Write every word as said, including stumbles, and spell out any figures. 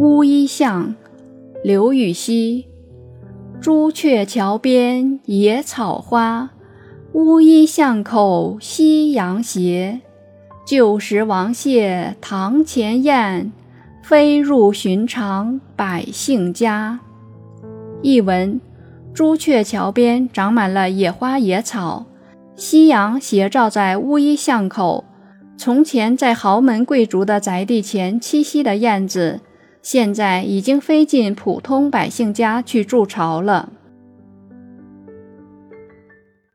乌衣巷，刘禹锡。朱雀桥边野草花，乌衣巷口夕阳斜。旧时王谢堂前燕，飞入寻常百姓家。译文：朱雀桥边长满了野花野草，夕阳斜照在乌衣巷口。从前在豪门贵族的宅地前栖息的燕子，现在已经飞进普通百姓家去筑巢了。